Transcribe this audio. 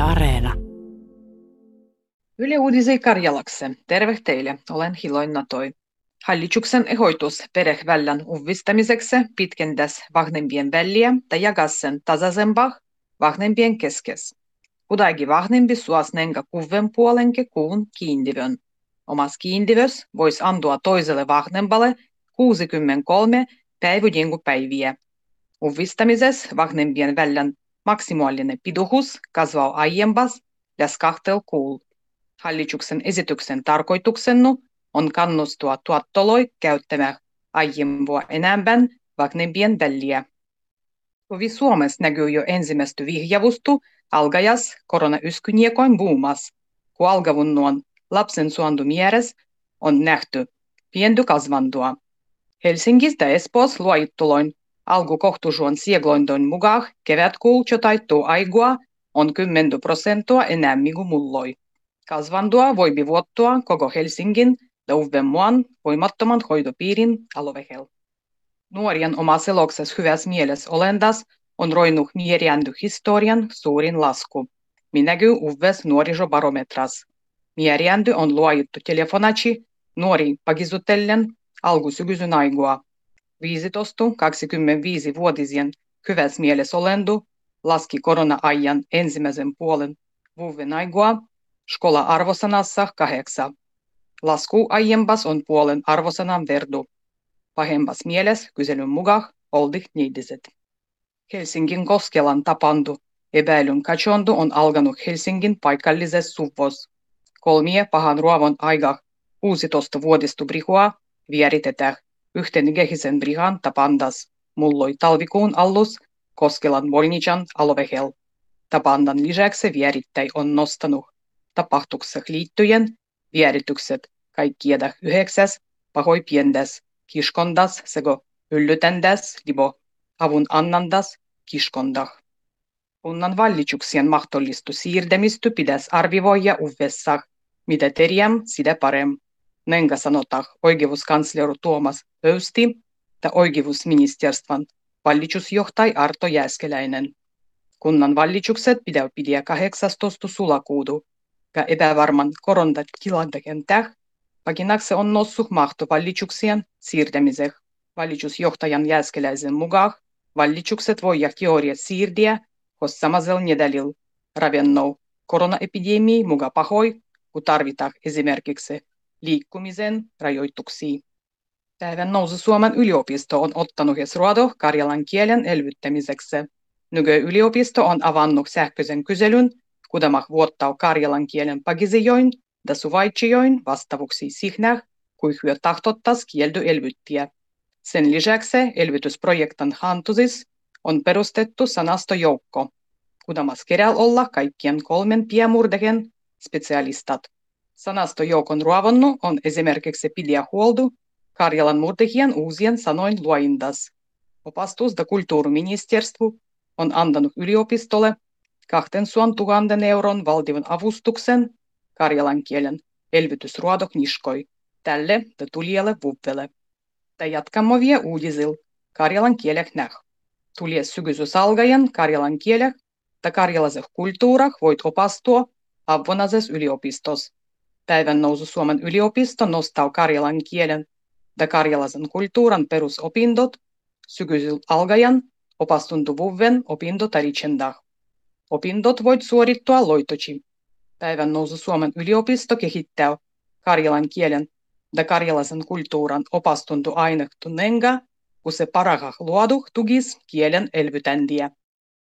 Areena. Yle Uudisi Karjalakse. Terve teille, olen Hiloin Natoi. Hallituksen ehdotus perhevällän uudistamiseksi pitkendäs vanhempien väliä ja jakas sen tasaisempaa vanhempien keskes. Kuitenkin vanhempi suos nenga kuven puolenke kuun kiintivön. Omas kiintivös voisi antaa toiselle vanhempalle 63 päiviä. Uudistamisessa vanhempien vällän maksimaalinen pituus kasvaa aiempas lähes 2 kuulla. Hallituksen esityksen tarkoituksena on kannustaa tuottoloi käyttämään aiempaa enemmän vanhempien väliä. Tovi Suomessa näkyy jo ensimmäistä vihjavustu algajas koronayskynjekoin buumas, kun algavunnuon lapsen suontumieres on nähty pienty kasvantua. Helsingissä ja Espoossa luojittuloin alkukohtusuon sieglointoin mukaan kevätkuul taittuu aigua on 10% enemmän kuin mulloi. Kasvandua voi vuottua koko Helsingin ja Uudenmaan voimattoman hoitopiirin alueella. Nuorien oma seloksessa hyvässä mielessä olendas on roinut mieriändy historian suurin lasku, minäky uudessa nuorisobarometras. Mieriändy on luojittu telefonaci nuori pakisutellen alkusykysyn aigua. 15-25-vuotisien hyvässä mielessä olendu laski korona-ajan ensimmäisen puolen vuoden aigua skola-arvosanassa 8. Lasku aiempas on puolen arvosanan verdu. Pahempas mielessä kyselyn mukaan oldi niidiset. Helsingin Koskelan tapandu epäilyn katsontu on alkanut Helsingin paikallisessa suvos. 3 pahan ruovon aika 16-vuotistu brihua vieritetään yhten kehisen brihan tapandas mulloi talvikuun allus Koskelan Volnican alueella. Tapandan lisäksi vierittäjä on nostanut tapahtukseen liittyen vieritykset kaikkieda 9 pahoi piendes kiskondas sekä yllytändas libo avun annandas kiskondah. Kunnan valituksien mahdollistu siirtämistä pitäisi arvioida uudessa, mitä terjäm sitä parem. Nenga sanotaan oikeuskansleri Tuomas Pöysti ja oikeusministeriön valitusjohtaja Arto Jääskeläinen. Kunnan valitukset pidä 18. sulakuuta ja epävarman koronatilanteen pakinakse on noussut mahto valituksien siirtämiseen. Valitusjohtajan Jääskeläisen mukaan valitukset voidaan teoriat siirtää, koska samasella nedälillä ravennou koronaepidemia mukaan pahoi, kun tarvitaan esimerkiksi liikkumisen rajoituksia. Päivän nousu Suomen yliopisto on ottanut ruodo karjalan kielen elvyttämiseksi. Nyky-yliopisto on avannut sähköisen kyselyn, kudamak vuottaa karjalan kielen pakisijoin ja suvaitsijoin vastavuksi sihnäh, kui hyö tahtottas kieldy elvyttiä. Sen lisäksi elvytysprojektin hantusis on perustettu sanastojoukko, kudamas keräl olla kaikkien 3 piemurdehen specialistat. Sanastojoukon ruovonnu on esimerkiksi pidä huoldu Karjalan murdehien uusien sanoin luoindas. Opastus ja kulttuuriministeriö on antanut yliopistolle 200 000 euron valtion avustuksen karjalan kielen elvytysruodokniskoi tälle ja tulijalle vuodelle. Ja jatkamme vielä uudisilla karjalan kielek näh. Tulije sykysys alkaen karjalan kielek ja karjalaiseh kulttuurah voit opastua Avonazes yliopistos. Päivän nousu Suomen yliopisto nostaa karjalan kielen ja karjalaisen kulttuuran perusopindot syksyllä alkaen opastuntuvuuden opintotarichendah. Opindot voit suorittua loitoci. Päivän nousu Suomen yliopisto kehittää karjalan kielen ja karjalaisen kulttuuran opastuntuainektu nenga, kun se parahah luoduh tugis kielen elvytändiä.